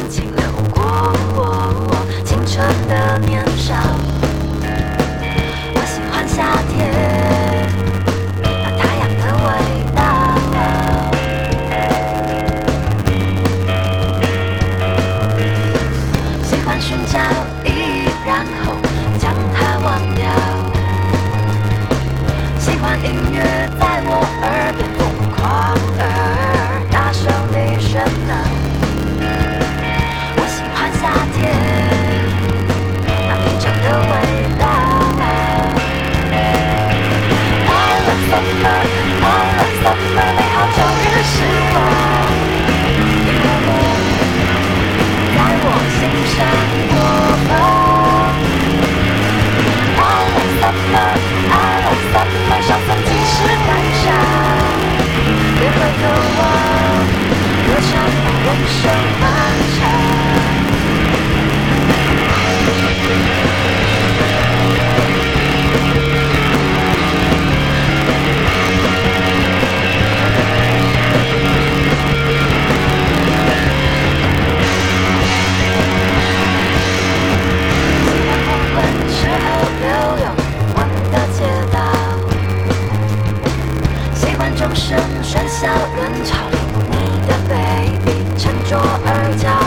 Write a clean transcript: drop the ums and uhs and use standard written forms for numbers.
清流过青春的年少。我喜欢夏天，那太阳的味道。喜欢寻找意义，然后将它忘掉。喜欢音乐在我耳边疯狂而大声地喧闹。我喜欢夏天那平整的味道。I love summer, I love summer， 美好终日时光，因为你在我心上播放。I love summer, I love summer， 上层即使感伤，也会渴望歌唱人生漫长。喜欢黄昏之后流动光的街道，喜欢钟声喧嚣人潮里你的 baby 沉着而骄